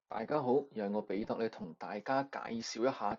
大家好，又係我彼得咧，同大家介紹一下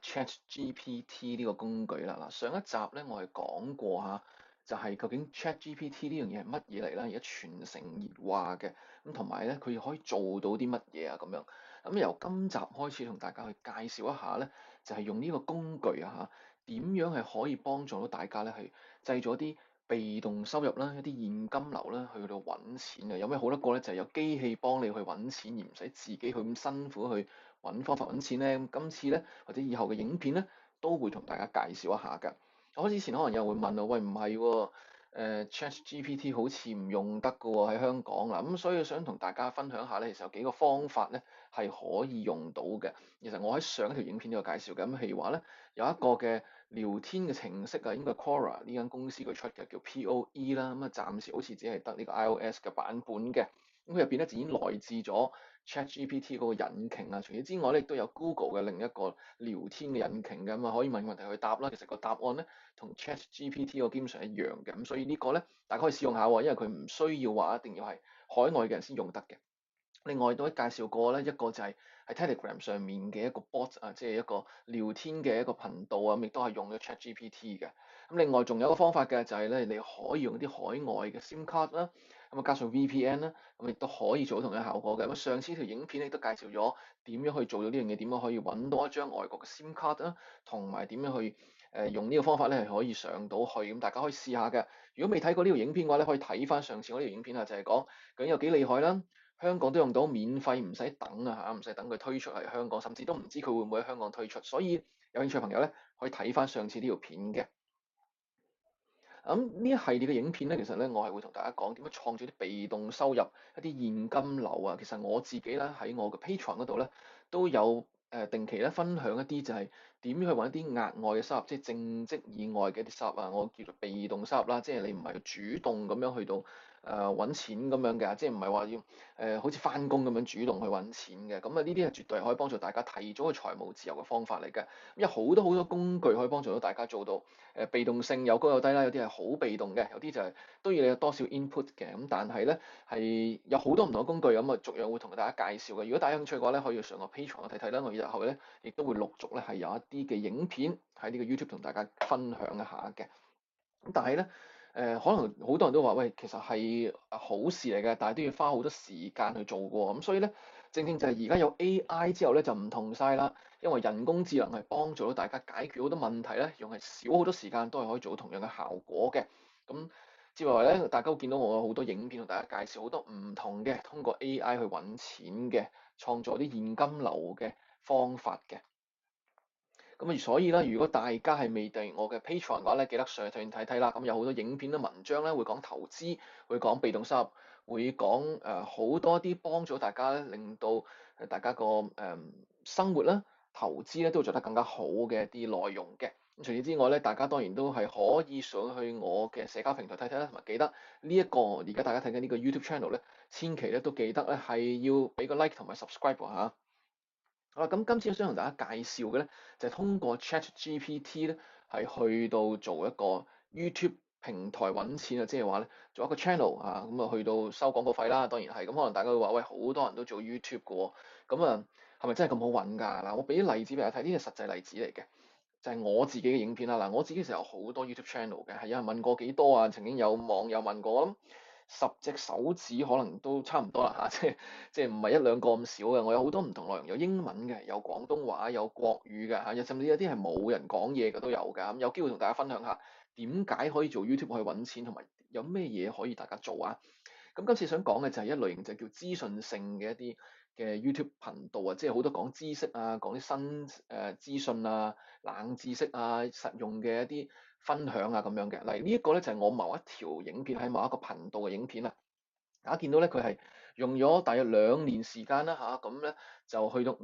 ChatGPT 呢個工具啦。嗱，上一集咧我係講過下，就係究竟 ChatGPT 呢樣嘢係乜嘢嚟啦？而家全城熱話嘅，咁同埋咧佢可以做到啲乜嘢啊？咁樣咁由今集開始同大家去介紹一下咧，就係用呢個工具啊嚇，點樣係可以幫助到大家咧去製造啲被動收入啦，一啲現金流啦，去到揾錢嘅。有咩好得過咧？就係有機器幫你去揾錢，而唔使自己去咁辛苦去揾方法揾錢咧。咁今次咧，或者以後嘅影片咧，都會同大家介紹一下㗎。我之前可能有人會問我，喂，唔係喎，ChatGPT 好似唔用得㗎喎喺香港啦，咁所以想同大家分享下咧，其實有幾個方法咧係可以用到嘅。其實我喺上一條影片都有介紹嘅，咁譬如話咧，有一個嘅聊天嘅程式啊，應該係 Quora 呢間公司佢出嘅，叫 POE 啦，咁啊暫時好似只係得呢個 iOS 嘅版本嘅，咁佢入邊咧就已經內置咗 ChatGPT 嗰個引擎啊，除此之外咧亦都有 Google 嘅另一個聊天嘅引擎嘅，咁啊可以問問題去答啦，其實個答案咧同 ChatGPT 個基本上一樣嘅，咁所以呢個咧大家可以試用下喎，因為佢唔需要話一定要係海外嘅人先用得嘅。另外都介紹過咧，一個就係喺 Telegram 上面嘅一個 bot 啊，即係一個聊天嘅一個頻道啊，咁亦都係用咗 ChatGPT 嘅。咁另外仲有一個方法嘅就係咧，你可以用啲海外嘅 SIM 卡啦，咁啊加上 VPN 啦，咁亦都可以做到同樣效果嘅。咁上次條影片亦都介紹咗點樣去做到呢樣嘢，點樣可以揾到一張外國嘅 SIM 卡啦，同埋點樣去用呢個方法咧係可以上到去，咁大家可以試下嘅。如果未睇過呢條影片嘅話咧，可以睇翻上次嗰條影片啊，就係講究竟有幾厲害啦。香港都用到免費，唔使等啊嚇，唔使等佢推出嚟香港，甚至都唔知佢會唔會喺香港推出，所以有興趣嘅朋友咧可以睇翻上次呢條片嘅。咁呢一系列嘅影片咧，其實咧我係會同大家講點樣創造啲被動收入、一啲現金流啊。其實我自己咧喺我嘅 Patreon 嗰度咧都有定期咧分享一啲就係點樣去揾一啲額外嘅收入，即係正職以外嘅一啲收入啊。我叫做被動收入啦，即係你唔係主動咁樣去到揾錢咁樣嘅，即係唔係話要好似翻工咁樣主動去揾錢嘅。咁啊呢啲係絕對係可以幫助大家提早去財務自由嘅方法嚟嘅。有好多工具可以幫助到大家做到。被動性有高有低啦，有啲係好被動嘅，有啲就係都要你有多少 input 嘅，咁但係咧係有好多唔同嘅工具，咁啊逐樣會同大家介紹嘅。如果大家有興趣嘅話咧，可以上個 Patreon 睇睇啦。我日後咧亦都會陸續咧係有一啲嘅影片喺呢個 YouTube 同大家分享一下嘅。咁但係咧可能好多人都話喂，其實係好事嚟嘅，但係都要花好多時間去做過，咁所以咧正正就係而家有 AI 之後咧就唔同晒啦。因為人工智能係幫助到大家解決好多問題咧，用係少好多時間都係可以做到同樣嘅效果嘅。咁之外咧，大家會見到我有好多影片同大家介紹好多唔同嘅通過 AI 去揾錢嘅，創造啲現金流嘅方法嘅。咁所以咧，如果大家係未訂閱我嘅 Patreon 嘅話咧，記得上去睇睇啦。咁有好多影片啦、文章咧，會講投資，會講被動收入，會講好多啲幫助大家咧，令到大家個生活啦、投資咧都做得更加好嘅一啲內容嘅。咁除此之外咧，大家當然都係可以上去我嘅社交平台睇睇啦，同埋記得呢一個而家大家睇緊呢個 YouTube channel 咧，千祈咧都記得咧係要俾個 like 同埋 subscribe 嚇。好啦，咁今次想同大家介紹嘅咧，就係通過 ChatGPT 咧，係去到做一個 YouTube 平台揾錢啊，即係話咧做一個 channel 啊，咁啊去到收廣告費啦，當然係。咁可能大家會話喂，好多人都做 YouTube 嘅喎，咁啊係咪真係咁好揾㗎？嗱，我俾啲例子俾大家睇，呢個實際例子嚟嘅，就係我自己嘅影片啦。嗱，我自己其實有好多 YouTube channel 嘅，係有人問過幾多啊？曾經有網友問過，我諗10隻手指可能都差唔多啦嚇，即係唔係一兩個咁少嘅。我有好多唔同內容，有英文嘅，有廣東話，有國語嘅嚇，甚至有啲係冇人講嘢嘅都有㗎。咁有機會同大家分享下點解可以做 YouTube 去揾錢，同埋有咩嘢可以大家做啊？咁今次想講嘅就係一類型就叫資訊性嘅一啲嘅 YouTube 頻道啊，即係好多講知識啊，講啲新資訊啊、冷知識啊、實用嘅一啲分享啊咁樣嘅。嗱，呢一個咧就係我某一條影片喺某一個頻道嘅影片啊。大家見到咧，佢係用咗大約2年時間啦嚇，咁咧就去到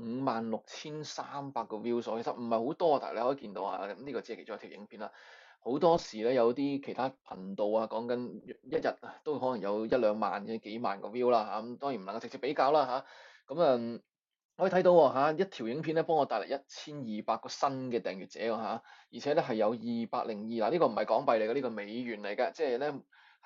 56,300個 view 數，其實唔係好多，但係你可以見到啊，咁呢個只係其中一條影片啦。好多時咧有啲其他頻道啊，講緊一日啊都可能有一兩萬嘅幾萬個 view 啦嚇，咁當然唔能夠直接比較啦嚇。咁可以睇到喎嚇，一條影片咧幫我帶嚟1200個新嘅訂閱者喎嚇，而且咧係有202嗱，呢個唔係港幣嚟嘅，呢個美元嚟嘅，即係咧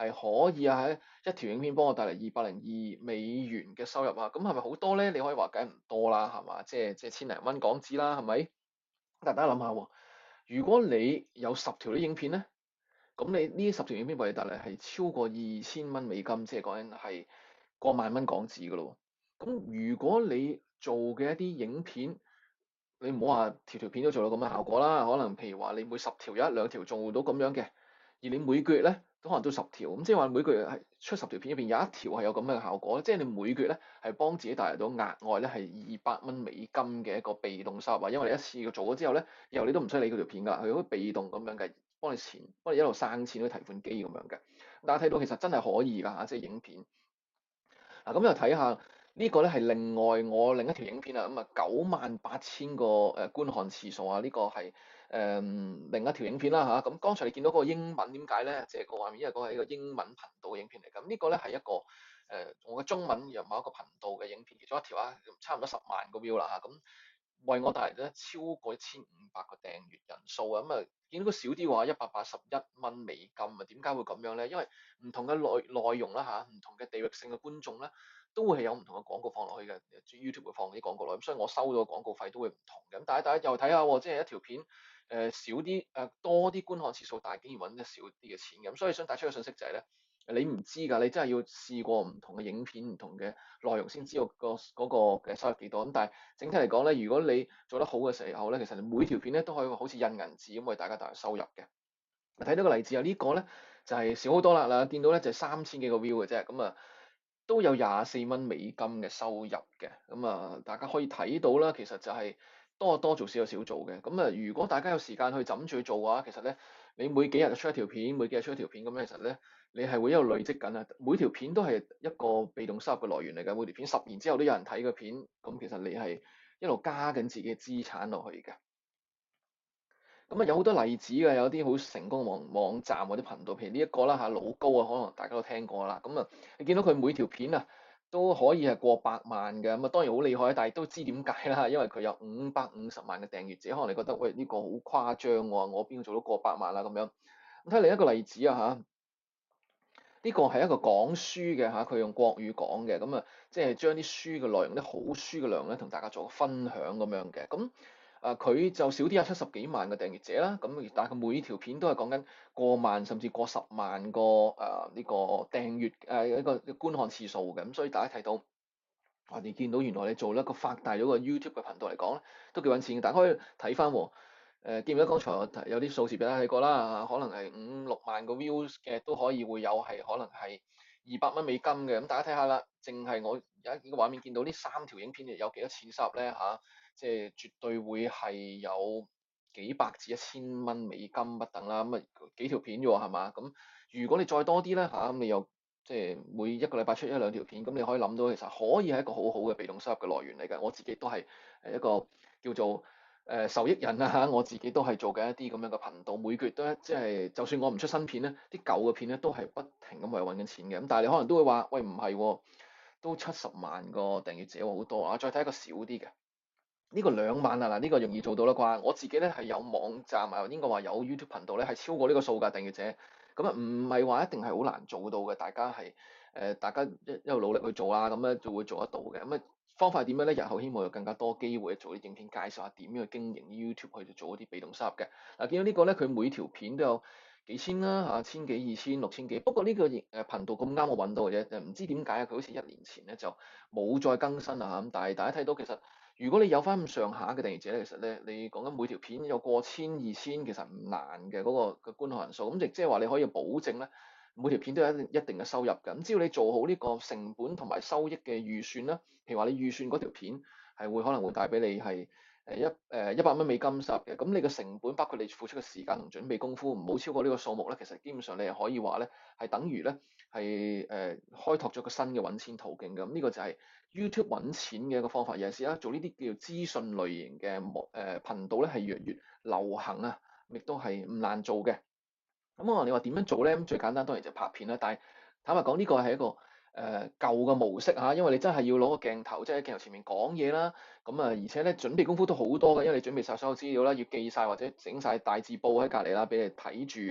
係可以喺一條影片幫我帶嚟202美元嘅收入啊，咁係咪好多咧？你可以話梗係唔多啦，係嘛？即係千零蚊港紙啦，係咪？但大家諗下喎，如果你有10條啲影片咧，咁你呢10條影片為你帶嚟係超過2000蚊美金，即係講緊係過萬蚊港紙噶咯。咁如果你做嘅一啲影片，你唔好話條條片都做到咁嘅效果啦，可能譬如話你每10條有1兩條做到咁樣嘅，而你每個月咧都可能都10條，咁即係話每個月係出10條片入邊有1條係有咁嘅效果，即係你每個月咧係幫自己帶嚟到額外咧係200蚊美金嘅一個被動收入啊，因為你一次過做咗之後咧，以後你都唔使理嗰條片㗎，佢好被動咁樣嘅，幫你一路生錢，好似提款機咁樣嘅。大家睇到其實真係可以㗎嚇，即係影片。嗱，咁又睇下呢個咧係另外我另一條影片啊，咁啊98000個觀看次數啊，呢個係另一條影片啦嚇。咁剛才你見到嗰個英文點解咧？即係個畫面，因為嗰個係一個英文頻道嘅影片嚟。咁呢個咧係一個我嘅中文由某一個頻道嘅影片，其中一條啊，差唔多10萬個 view 啦嚇。咁為我帶嚟咗超過1500個訂閱人數啊，咁啊見到個少啲話181蚊美金啊，點解會咁樣咧？因為唔同嘅內容啦嚇，唔同嘅地域性嘅觀眾咧，都會係有唔同嘅廣告放落去嘅，YouTube 會放啲廣告落去，咁所以我收到嘅廣告費都會唔同嘅。咁大家又睇下喎，即係一條片少啲多啲觀看次數，但係竟然揾得少啲嘅錢咁，所以想帶出嘅信息就係咧。你唔知㗎，你真係要試過唔同嘅影片、唔同嘅內容先知道嗰個嘅收入幾多。咁但係整體嚟講咧，如果你做得好嘅時候咧，其實你每條片咧都可以好似印銀紙咁為大家帶來收入嘅。睇到個例子啊，呢個咧就係少好多啦。嗱，見到咧就係3000幾個 view 嘅啫，咁啊都有24蚊美金嘅收入嘅。咁啊，大家可以睇到啦，其實就係多做少有少做嘅。咁啊，如果大家有時間去枕住去做嘅話，其實咧你每幾日就出一條片，每幾日出一條片咁咧，其實咧你係會一路累積緊啊。每條片都係一個被動收入嘅來源嚟嘅，每條片10年之後都有人睇個片，咁其實你係一路加緊自己嘅資產落去嘅。咁啊，有好多例子嘅，有啲好成功嘅網站或者頻道，譬如呢一個啦嚇，老高啊，可能大家都聽過啦。咁啊，你見到佢每條片啊都可以係過百萬嘅，咁啊當然好厲害，但係都知點解啦，因為佢有550萬嘅訂閱者，可能你覺得喂呢個好誇張喎，我邊度做到過百萬啦咁樣。咁睇另一個例子啊嚇，呢個係一個講書嘅嚇，佢用國語講嘅，咁啊即係將啲書嘅內容、啲好書嘅內容咧，同大家做個分享咁樣嘅，咁。佢就少啲有70幾萬嘅訂閱者啦，咁但係佢每條片都係講緊過萬甚至過10萬個呢個訂閱一個觀看次數嘅，咁所以大家睇到我哋見到原來你做一個發大咗個 YouTube 嘅頻道嚟講咧，都幾揾錢嘅。大家可以睇翻喎，記唔記得剛才我有啲數字俾大家睇過啦？可能係5、6萬個 views 嘅都可以會有係可能係200蚊美金嘅，咁大家睇下啦，淨係我有一個畫面見到呢3條影片有幾多錢收入咧嚇？即係絕對會係有幾百至1000蚊美金不等啦，咁啊幾條片啫喎，係嘛？咁如果你再多啲咧嚇，咁你又即係每一個禮拜出1、2條片，咁你可以諗到其實可以係一個好好嘅被動收入嘅來源嚟嘅。我自己都係一個叫做受益人啊嚇，我自己都係做緊一啲咁樣嘅頻道，每個月都即係就算我唔出新片咧，啲舊嘅片咧都係不停咁為揾緊錢嘅。咁但係你可能都會話，喂唔係喎，都70萬個訂閱者喎，好多啊！再睇一個少啲嘅。呢個2萬啊，嗱、這、呢個容易做到啦啩？我自己咧係有網站啊，應該話有 YouTube 頻道咧係超過呢個數㗎訂閱者，咁啊唔係話一定係好難做到嘅，大家係大家一路努力去做啦，咁咧就會做得到嘅。咁啊方法係點樣咧？日後希望有更加多機會做啲影片介紹下點樣去經營 YouTube 去做一啲被動收入嘅。嗱，見到呢個咧，佢每條片都有幾千啦嚇，千幾、2000、6000幾。不過呢個頻道咁啱我揾到嘅啫，唔知點解啊？佢好似1年前咧就冇再更新啊，咁但係大家睇到其實。如果你有翻咁上下嘅訂閱者咧，其實咧你講緊每條片有過千、2000，其實唔難嘅嗰個嘅觀看人數。咁亦即係話你可以保證咧，每條片都有一定嘅收入嘅。咁只要你做好呢個成本同埋收益嘅預算啦，譬如話你預算嗰條片係會可能會帶俾你係100蚊美金收入嘅，咁你嘅成本包括你付出嘅時間同準備功夫唔好超過呢個數目咧，其實基本上你係可以話咧係等於咧係開拓咗個新嘅揾錢途徑嘅。咁呢個就係 YouTube 揾錢嘅一個方法。尤其是啦，做呢啲叫做資訊類型嘅頻道咧係越嚟越流行啊，亦都係唔難做嘅。咁你話點樣做咧？咁最簡單當然就拍片啦。但係坦白講，呢個係一個舊嘅模式嚇，因為你真係要攞個鏡頭，即係喺鏡頭前面講嘢啦。咁而且咧準備功夫都好多嘅，因為你準備晒所有資料啦，要記晒或者整晒大字報喺隔離啦，俾你睇住，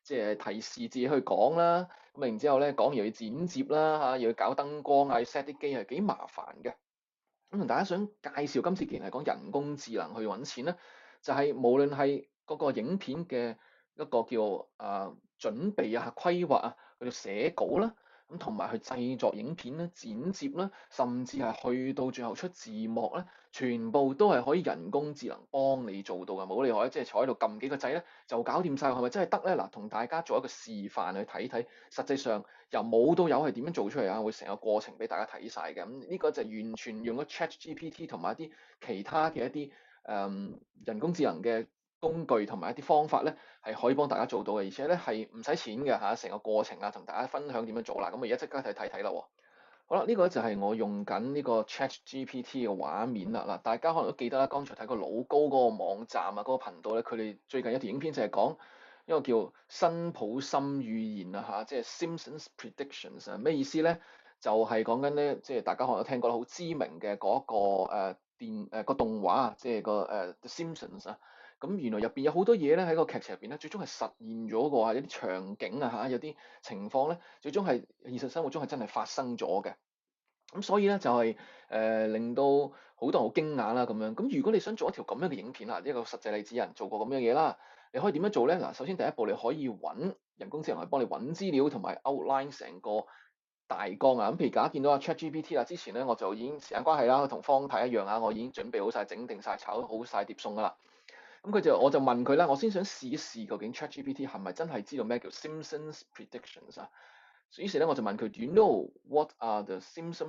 即係提示自己去講啦，咁然之後咧講完又要剪接啦嚇，又要搞燈光啊，要 set 啲機係幾麻煩嘅。咁同大家想介紹今次既然係講人工智能去揾錢咧，就係無論係嗰個影片嘅一個叫準備啊、規劃啊，去到寫稿啦，咁同埋去製作影片咧、剪接啦，甚至係去到最後出字幕咧，全部都係可以人工智能幫你做到嘅，冇理由即係坐喺度撳幾個掣咧就搞掂晒，係咪真係得咧？嗱，同大家做一個示範去睇睇，實際上由冇到有係點樣做出嚟啊？會成個過程俾大家睇晒嘅。咁呢個就完全用咗 ChatGPT 同埋一啲其他嘅一啲人工智能嘅工具同埋一啲方法咧，係可以幫大家做到嘅，而且咧係唔使錢嘅嚇，成個過程啊，同大家分享點樣做啦。咁我而家即刻睇睇啦喎。好啦，呢個就係我用緊呢個 ChatGPT 嘅畫面啦。嗱，大家可能都記得啦，剛才睇過老高嗰個網站啊，嗰個頻道咧，佢哋最近一條影片就係講一個叫辛普森預言啊嚇，即係 Simpsons Predictions 啊，咩意思咧？就係講緊咧，即係大家可能都聽過好知名嘅嗰個個動畫啊，即係個The Simpsons 啊。咁原來入邊有好多嘢咧喺個劇情入邊咧，最終係實現咗嘅，有啲場景啊嚇，有啲情況咧，最終係現實生活中係真係發生咗嘅。咁所以咧就係令到好多人好驚訝啦咁樣。咁如果你想做一條咁樣嘅影片啊，一個實際例子有人做過咁樣嘢啦，你可以點樣做咧？嗱，首先第一步你可以揾人工智能嚟幫你揾資料同埋 outline 成個大綱啊。咁譬如大家見到阿 ChatGPT 啦，之前咧我就已經時間關係啦，同方太一樣啊，我已經準備好晒、整定晒、炒好晒碟餸噶啦。咁我就問佢啦，我先想試一試究竟 ChatGPT 係咪真係知道咩叫 Simpsons Predictions 啊？於是咧我就問佢，Do you know what are the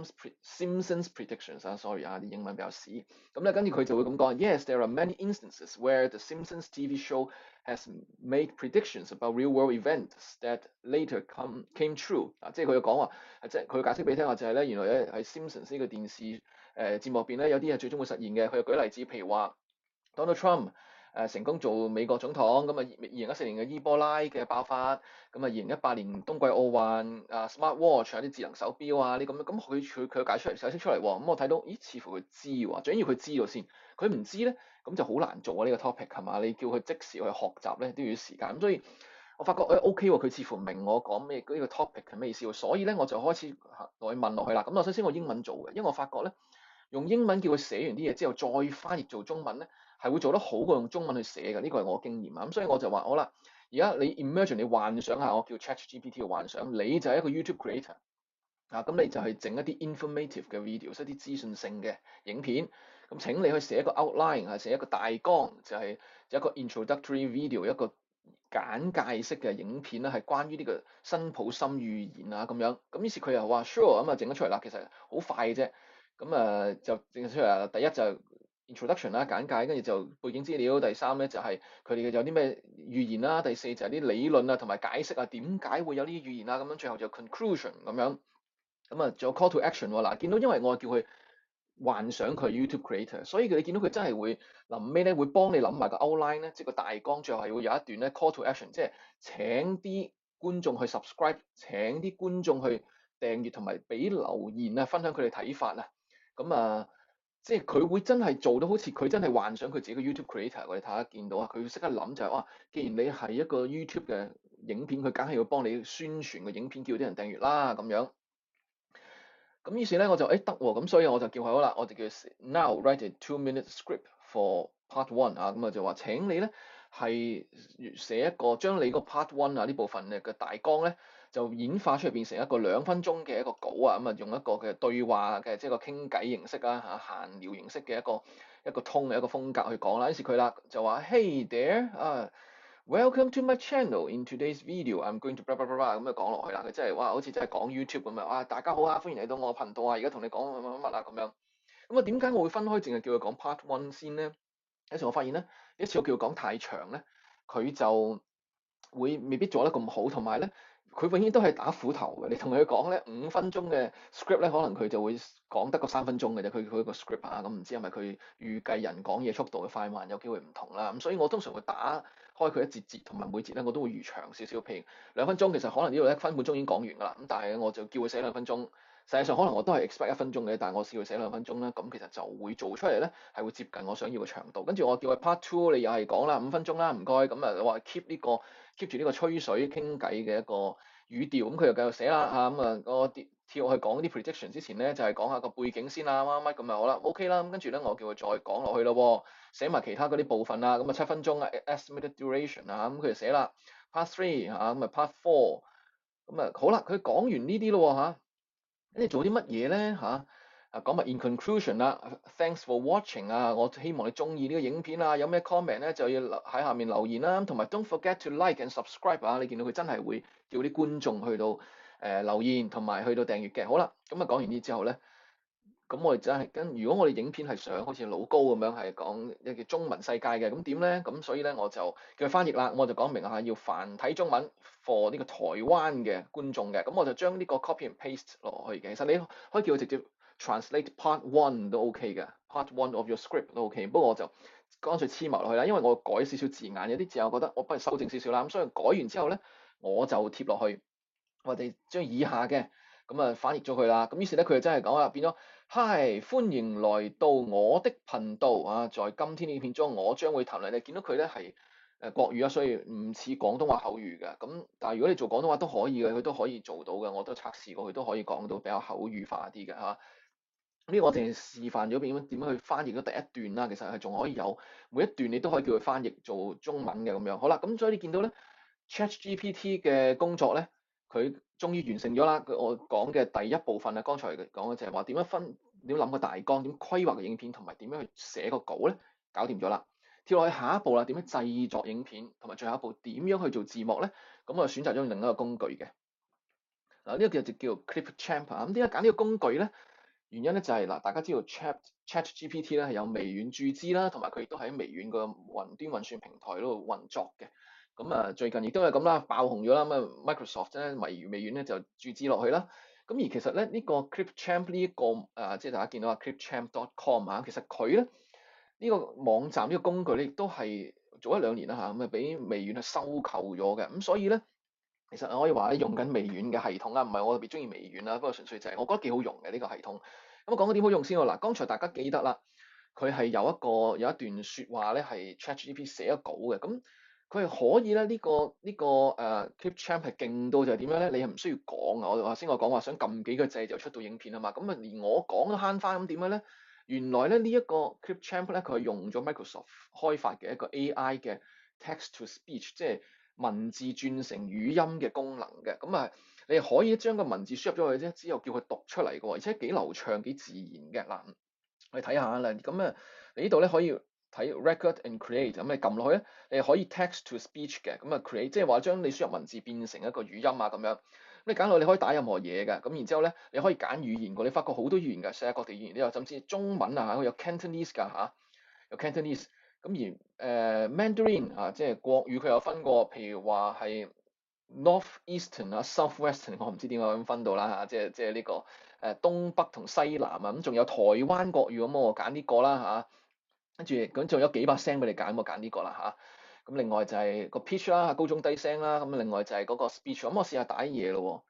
Simpsons predictions 啊？Sorry 啊，啲英文比較屎。咁咧跟住佢就會咁講，Yes, there are many instances where the Simpsons TV show has made predictions about real-world events that later came true。啊，即係佢講話，即係佢解釋俾你聽話就係咧，原來咧喺 Simpsons 呢個電視節目入邊咧，有啲係最終會實現嘅。佢又舉例子，譬如話 Donald Trump。成功做美國總統，咁啊2014年嘅伊波拉嘅爆發，咁啊2018年冬季奧運，Smart Watch 有啲智能手錶啊，啲咁樣，咁佢解釋出嚟喎，咁我睇到，咦，似乎佢知喎，最緊要佢知道先，佢唔知咧，咁就好難做啊呢個 topic 係嘛？你叫佢即時去學習咧都要時間，咁所以我發覺OK 喎，佢似乎明我講咩呢個 topic 係咩意思喎，所以咧我就開始落去問落去啦。咁我首先我英文做嘅，因為我發覺咧用英文叫佢寫完啲嘢之後再翻譯做中文咧。係會做得好過用中文去寫嘅，呢個係我經驗啊。咁所以我就話好啦，而家你 imagine 你幻想下，我叫 ChatGPT 嘅幻想，你就係一個 YouTube creator 啊，咁你就係整一啲 informative 嘅 videos，一啲資訊性嘅影片。咁請你去寫一個 outline 係寫一個大綱，就係一個 introductory video，一個簡介式嘅影片啦，係關於呢個辛普森預言啊咁樣。咁於是佢又話 sure， 咁啊整咗出嚟啦，其實好快嘅啫。咁就整咗出嚟啦。第一就 introduction 啦，簡介，跟住就背景資料。第三咧就係佢哋有啲咩預言啦。第四就係啲理論啊，同埋解釋啊，點解會有呢啲預言啊。咁樣最後就 conclusion 咁樣。咁啊，仲有 call to action 喎。嗱，見到因為我叫佢幻想佢 YouTube creator，所以你見到佢真係會臨尾咧會幫你諗埋個 outline 咧，即係個大綱，最後係會有一段咧 call to action，即係請啲觀眾去 subscribe，請啲觀眾去訂閱同埋俾留言啊，分享佢哋睇法啊。咁即係佢會真係做到好似佢真係幻想佢自己嘅 YouTube creator，我哋睇下見到啊，佢會識得諗就係哇，既然你係一個 YouTube 嘅影片，佢梗係要幫你宣傳個影片，叫啲人訂閱啦咁樣。咁於是咧我就得喎，咁所以我就叫佢好啦，我就叫佢 Now write a 2-minute script for part one 啊，咁啊就話請你咧係寫一個將你個 part one 啊呢部分嘅大綱咧就演化出嚟變成一個2分鐘嘅一個稿啊，咁啊用一個嘅對話嘅即係個傾偈形式啊嚇閒聊形式嘅一個通嘅一個風格去講啦。於是佢啦就話 Hey there welcome to my channel. In today's video, I'm going to blah blah blah blah 咁就講落去啦。佢真係哇，好似真係講 YouTube 咁樣。哇，大家好啊，歡迎嚟到我頻道啊，而家同你講乜乜乜啊咁樣。咁點解我會分開淨係叫佢講 part one 先咧？有時我發現咧，有時我叫佢講太長咧，佢就會未必做得咁好，同埋咧，佢永遠都係打斧頭嘅。你同佢講咧5分鐘嘅 script 咧，可能佢就會講得個3分鐘嘅啫。佢個 script 啊，咁唔知係咪佢預計人講嘢速度嘅快慢有機會唔同啦。咁所以我通常會打開佢一節，同埋每節咧我都會預長少少。譬如2分鐘，其實可能呢度1分半鐘已經講完㗎啦。咁但係我就叫佢寫2分鐘， 實際上可能我都係 expect 1分鐘嘅，但係我試佢寫2分鐘啦，咁其實就會做出嚟咧係會接近我想要嘅長度。跟住我叫佢 part two，你又係講啦5分鐘啦，唔該，咁啊話 keep 住呢個吹水傾偈嘅一個語調，咁佢又繼續寫啦嚇，咁啊我跳去講啲 prediction 之前咧，就係講下個背景先啦，乜乜咁啊好啦，OK 啦，咁跟住咧我叫佢再講落去咯，寫埋其他嗰啲部分啦，咁啊7分鐘啊 estimated duration 啊，咁佢就寫啦 part three 嚇，咁啊 part four，咁啊好啦，佢講完呢啲咯嚇。你做啲乜嘢咧嚇？講埋 in conclusion 啦，thanks for watching 啊，我希望你中意呢個影片啊，有咩 comment 咧就要喺下面留言啦，同埋 don't forget to like and subscribe 啊，你見到佢真係會叫啲觀眾去到留言同埋去到訂閱嘅。好啦，咁啊講完呢之後咧。咁我哋真係如果我哋影片係想好似老高咁樣係講一個中文世界嘅，咁點咧？咁所以咧我就叫佢翻譯啦，我就講明下要繁體中文 for 呢個台灣嘅觀眾嘅，咁我就將呢個 copy and paste 落去嘅。其實你可以叫佢直接 translate part one 都 OK 嘅，part one of your script 都 OK。不過我就乾脆黐埋落去啦，因為我改少少字眼，有啲字我覺得我不如修正少少啦，咁所以改完之後咧我就貼落去，我哋將以下嘅咁啊翻譯咗佢啦。咁於是咧佢就真係講啦，變咗。Hi，歡迎來到我的頻道啊！在今天呢影片中，我將會談論你見到佢咧係國語啊，所以唔似廣東話口語嘅。咁但係如果你做廣東話都可以嘅，佢都可以做到嘅。我都測試過，佢都可以講到比較口語化啲嘅嚇。呢個我淨係示範咗點樣去翻譯咗第一段啦。其實係仲可以有每一段你都可以叫佢翻譯做中文嘅咁樣。好啦，咁所以你見到咧 ChatGPT 嘅工作咧。佢終於完成咗啦！我講嘅第一部分啊，剛才講嘅就係話點諗個大綱，點規劃個影片，同埋點樣去寫個稿咧，搞掂咗啦。跳落去下一步啦，點樣製作影片，同埋最後一步點樣去做字幕咧？咁我選擇咗另一個工具嘅。嗱，呢個就叫 Clipchamp 啊。咁點解揀呢個工具咧？原因咧就係嗱，大家知道 ChatGPT 咧係有微軟注資啦，同埋佢亦都喺微軟個雲端運算平台嗰度運作嘅。咁啊，最近亦都係咁啦，爆紅咗啦。咁啊，Microsoft 咧微軟咧就注資落去啦。咁而其實咧呢個 Clipchamp 呢一個即係大家見到啊 Clipchamp.com 啊，其實佢咧呢個網站呢個工具咧亦都係早1-2年啦嚇，咁啊俾微軟係收購咗嘅。咁所以咧。其實我可以話咧，用緊微軟嘅系統啦，唔係我特別中意微軟啦，不過純粹就係我覺得幾好用嘅呢個系統。咁我講緊點好用先喎。嗱，剛才大家記得啦，佢係有一段説話咧，係 ChatGPT 寫咗稿嘅。咁佢係可以咧，呢個Clipchamp 係勁到就係點樣咧？你係唔需要講啊！我講話想撳幾個掣就出到影片啊嘛。咁啊，連我講都慳翻，咁點樣咧？原來咧呢一個 Clipchamp 咧，佢係用咗 Microsoft 開發嘅一個 AI 嘅 text to speech，即係文字轉成語音嘅功能嘅。咁啊，你可以將個文字輸入咗去啫，之後叫佢讀出嚟嘅喎，而且幾流暢幾自然嘅。嗱，我哋睇下啦。咁啊，你呢度咧可以睇 record and create，咁你撳落去咧，你可以 text to speech 嘅。咁啊 create 即係話將你輸入文字變成一個語音啊咁樣。咁你揀落你可以打任何嘢嘅。咁然之後咧，你可以揀語言嘅。你發覺好多語言嘅，世界各地語言都有，甚至中文啊有 Cantonese 㗎嚇，有 Cantonese。咁而Mandarin 啊，即係國語佢有分過，譬如話係 Northeastern 啊、Southwestern，我唔知點解咁分到啦嚇，即係呢個東北同西南啊，咁仲有台灣國語，咁我揀呢個啦嚇，跟住咁仲有幾把聲俾你揀，我揀呢個啦嚇。咁另外就係個 pitch 啦，高中低聲啦，咁另外就係嗰個 speech，咁我試下打嘢咯。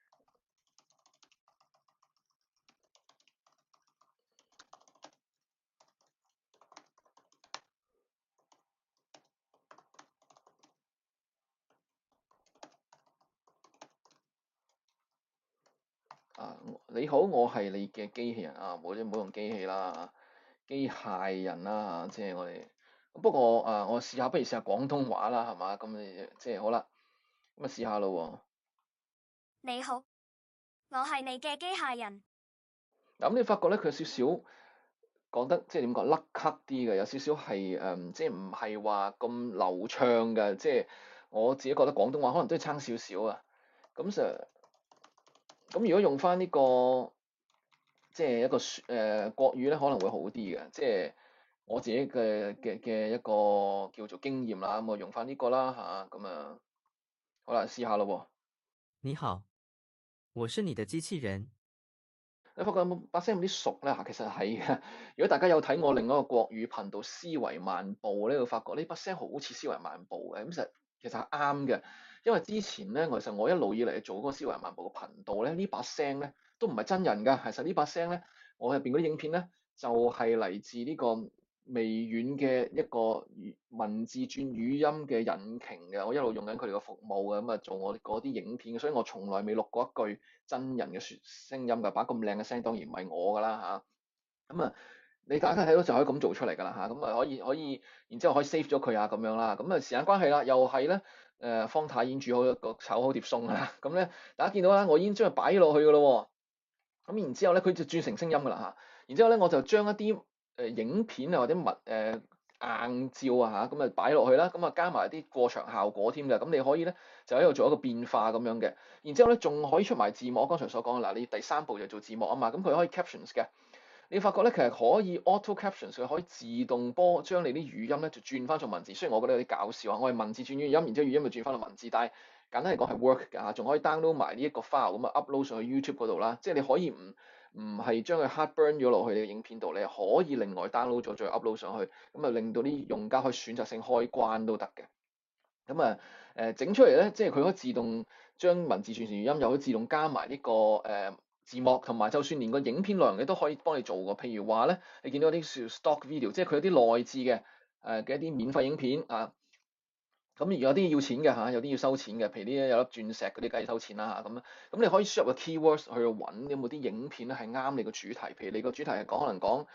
啊，你好，我係你嘅機器人啊，唔好用機器啦，機械人啦，即係我哋。不過我試下，不如試下廣東話啦，係嘛？咁你即係好啦，咁啊試下咯喎。 你好，我係你嘅機械人。 咁你發覺咧，佢有少少講得即係點講甩咳啲嘅，有少少係即係唔係話咁流暢嘅，即係我自己覺得廣東話可能都係差少少啊。咁如果用翻呢個即係一個國語咧，可能會好啲嘅。即係我自己嘅一個叫做經驗啦。咁我用翻呢個啦嚇，咁啊好啦，試下咯喎。 你好，我是你的機器人。 你發覺有冇把聲有啲熟咧？嚇，其實係嘅。如果大家有睇我另一個國語頻道思維漫步咧，會發覺呢把聲好似思維漫步嘅。咁其實係啱嘅，因為之前咧，其實我一路以嚟做嗰個思維漫步嘅頻道咧，呢把聲咧都唔係真人㗎。其實呢把聲咧，我入邊嗰啲影片咧就係嚟自呢個微軟嘅一個文字轉語音嘅引擎嘅，我一路用緊佢哋嘅服務嘅，咁啊做我嗰啲影片嘅，所以我從來未錄過一句真人嘅聲音㗎，把咁靚嘅聲當然唔係我㗎啦嚇，咁啊你大家睇到就可以咁做出嚟㗎啦嚇，咁啊可以，然之後可以 save 咗佢啊咁樣啦，咁啊時間關係啦，又係咧方太已經煮好一個炒好碟餸啦，咁咧大家見到啦，我已經將佢擺落去㗎咯喎，咁然之後咧佢就轉成聲音㗎啦嚇，然之後咧我就將一啲影片啊或者硬照啊嚇，咁啊擺落去啦，咁啊加埋啲過場效果添嘅，咁你可以咧就喺度做一個變化咁樣嘅，然之後咧仲可以出埋字幕，我剛才所講嗱，你第三步就做字幕啊嘛，咁佢可以 captions 嘅，你發覺咧其實可以 auto captions，佢可以自動將你啲語音咧就轉翻做文字，雖然我覺得有啲搞笑啊，我係文字轉語音，然之後語音就轉翻到文字，但係簡單嚟講係 work 㗎嚇，仲可以 download 埋呢一個 file 咁啊 upload 上去 YouTube 嗰度啦，即係你可以唔係將佢 hard burn 咗落去你嘅影片度，你可以另外 download 咗再 upload 上去，咁啊令到啲用家可以選擇性開關都得嘅。咁啊整出嚟咧，即係佢可以自動將文字轉成語音，又可以自動加埋呢個字幕，同埋就算連個影片內容你都可以幫你做嘅。譬如話咧，你見到啲 stock video，即係佢有啲內置嘅嘅一啲免費影片啊。咁而有啲要錢嘅嚇，有啲要收錢嘅，譬如呢有粒鑽石嗰啲梗係收錢啦嚇，咁你可以輸入個 keywords 去揾有冇啲影片咧係啱你個主題，譬如你個主題係可能講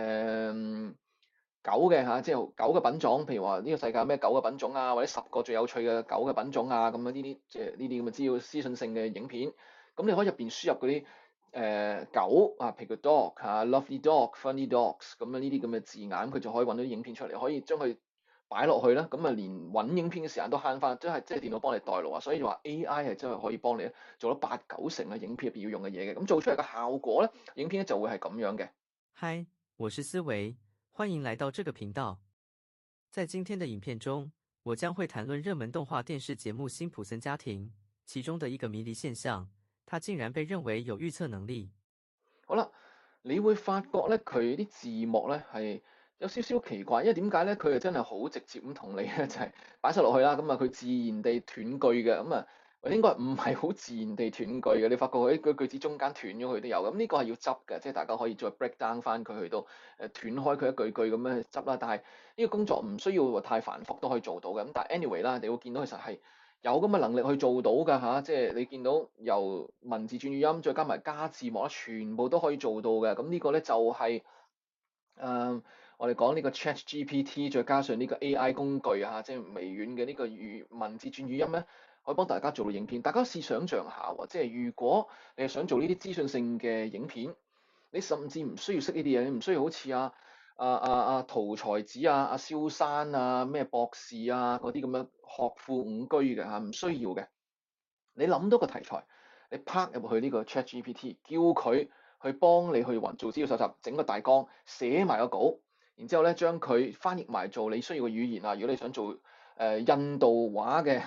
狗嘅嚇，即係狗嘅品種，譬如話呢個世界有咩狗嘅品種啊，或者10個最有趣嘅狗嘅品種啊，咁樣呢啲即係呢啲咁嘅資訊性嘅影片，咁你可以入邊輸入嗰啲狗啊，譬如個 dog 嚇，lovely dog、funny dogs 咁樣呢啲咁嘅字眼，佢就可以揾到啲影片出嚟，可以將佢擺落去啦，咁啊連揾影片嘅時間都慳翻，即係電腦幫你代勞啊，所以話 AI 係真係可以幫你做到8、9成嘅影片入邊要用嘅嘢嘅，咁做出嚟嘅效果咧，影片咧就會係咁樣嘅。 嗨，我是思維，歡迎來到這個頻道。在今天的影片中，我將會談論熱門動畫電視節目《辛普森家庭》其中的一個迷離現象，它竟然被認為有預測能力。 好啦，你會發覺咧，佢啲字幕咧係有少少奇怪，因為點解咧？佢係真係好直接咁同你咧，就係擺晒落去啦，咁啊佢自然地斷句嘅，咁啊應該唔係好自然地斷句嘅。你發覺佢啲句子中間斷咗佢都有，咁呢個係要執嘅，即係大家可以再 break down 翻佢去到斷開佢一句句咁樣去執啦。但係呢個工作唔需要太繁複都可以做到嘅。咁但係 anyway 啦，你會見到其實係有咁嘅能力去做到㗎嚇，即係你見到由文字轉語音，再加埋加字幕啦，全部都可以做到嘅。咁呢個咧就係我哋講呢個 ChatGPT，再加上呢個 AI 工具啊，即係微軟嘅呢個文字轉語音咧，可以幫大家做到影片。大家試想像下喎，即係如果你係想做呢啲資訊性嘅影片，你甚至唔需要識呢啲嘢，你唔需要好似陶才子阿蕭山啊咩博士啊嗰啲咁樣學富五車嘅嚇，唔需要嘅。你諗到個題材，你拍入去呢個 ChatGPT，叫佢去幫你去做資料搜集，整個大綱，寫埋個稿，然之後咧將佢翻譯埋做你需要嘅語言啊。如果你想做印度話嘅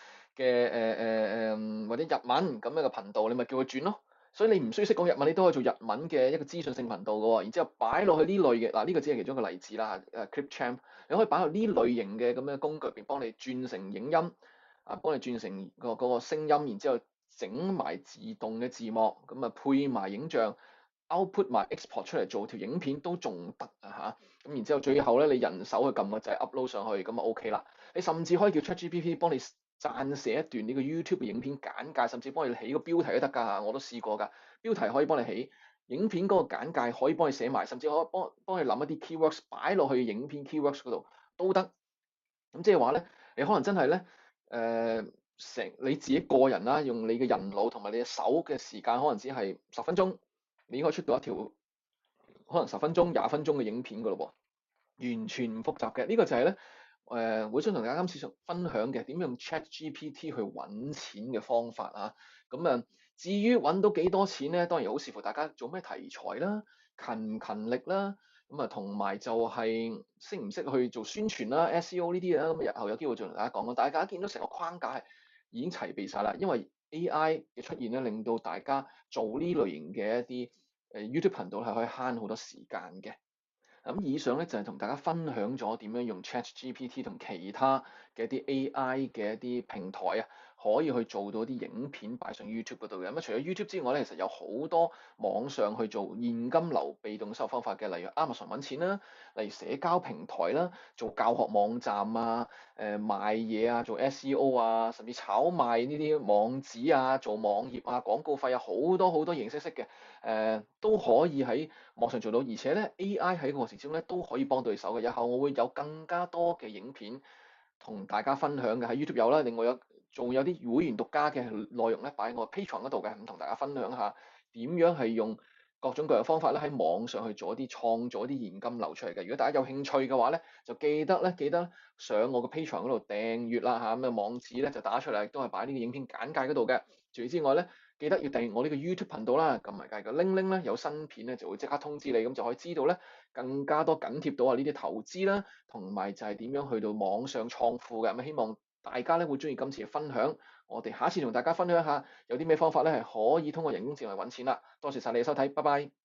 或者日文咁樣嘅頻道，你咪叫佢轉咯。所以你唔需要識講日文，你都可以做日文嘅一個資訊性頻道嘅喎。然之後擺落去呢類嘅嗱，呢個只係其中一個例子啦。Clipchamp 你可以擺落呢類型嘅咁嘅工具入邊，幫你轉成影音。幫你轉成嗰個聲音，然之後整埋自動嘅字幕，咁啊配埋影像 output 埋 export 出嚟做條影片都仲得啊嚇！咁然之後最後咧，你人手去撳個掣 upload 上去，咁啊 OK 啦。你甚至可以叫 ChatGPT 幫你撰寫一段呢個 YouTube 嘅影片簡介，甚至幫你起個標題都得㗎，我都試過㗎。標題可以幫你起，影片嗰個簡介可以幫你寫埋，甚至可以幫你諗一啲 keywords 擺落去影片 keywords 嗰度都得。咁即係話咧，你可能真係咧。你自己個人啦，用你嘅人腦同埋你嘅手嘅時間，可能只係10分鐘，你應該出到一條可能10分鐘、20分鐘嘅影片噶咯喎，完全唔複雜嘅。呢個就係咧會想同大家今次分享嘅點用 ChatGPT 去揾錢嘅方法啊。咁至於揾到幾多錢咧，當然好視乎大家做咩題材啦、勤唔勤力啦。同埋就係識唔識去做宣傳啦、SEO 呢啲嘢啦，咁日後有機會再同大家講咯。大家見到成個框架係已經齊備晒啦，因為 AI 嘅出現咧，令到大家做呢類型嘅一啲YouTube 頻道係可以慳好多時間嘅。咁以上咧就係同大家分享咗點樣用 ChatGPT 同其他嘅一啲 AI 嘅一啲平台啊， 可以去做到啲影片擺上 YouTube 嗰度嘅。咁除咗 YouTube 之外咧，其實有好多網上去做現金流被動收入方法嘅，例如 Amazon 揾錢啦，例如社交平台啦，做教學網站啊，賣嘢啊，做 SEO 啊，甚至炒賣呢啲網址啊，做網頁啊，廣告費啊，好多好多形式嘅，都可以喺網上做到，而且咧 AI 喺個過程之中咧都可以幫到你手嘅。日後我會有更加多嘅影片同大家分享嘅，喺 YouTube 有啦，另外仲有啲會員獨家嘅內容咧擺喺我 Patreon 嗰度嘅，咁同大家分享下點樣係用各種各樣方法咧喺網上去做一啲創造一啲現金流出嚟嘅。如果大家有興趣嘅話咧，就記得上我個 Patreon 嗰度訂閱啦嚇，咁嘅網址咧就打出嚟，都係擺呢個影片簡介嗰度嘅。除此之外咧，記得要訂閱我呢個 YouTube 頻道啦，撳埋隔離個鈴鈴咧，有新片咧就會即刻通知你，咁就可以知道咧更加多緊貼到啊呢啲投資啦，同埋就係點樣去到網上創富嘅。咁希望大家咧會中意今次嘅分享，我哋下一次同大家分享一下有啲咩方法咧係可以通過人工智能嚟揾錢啦。多謝晒你嘅收睇，拜拜。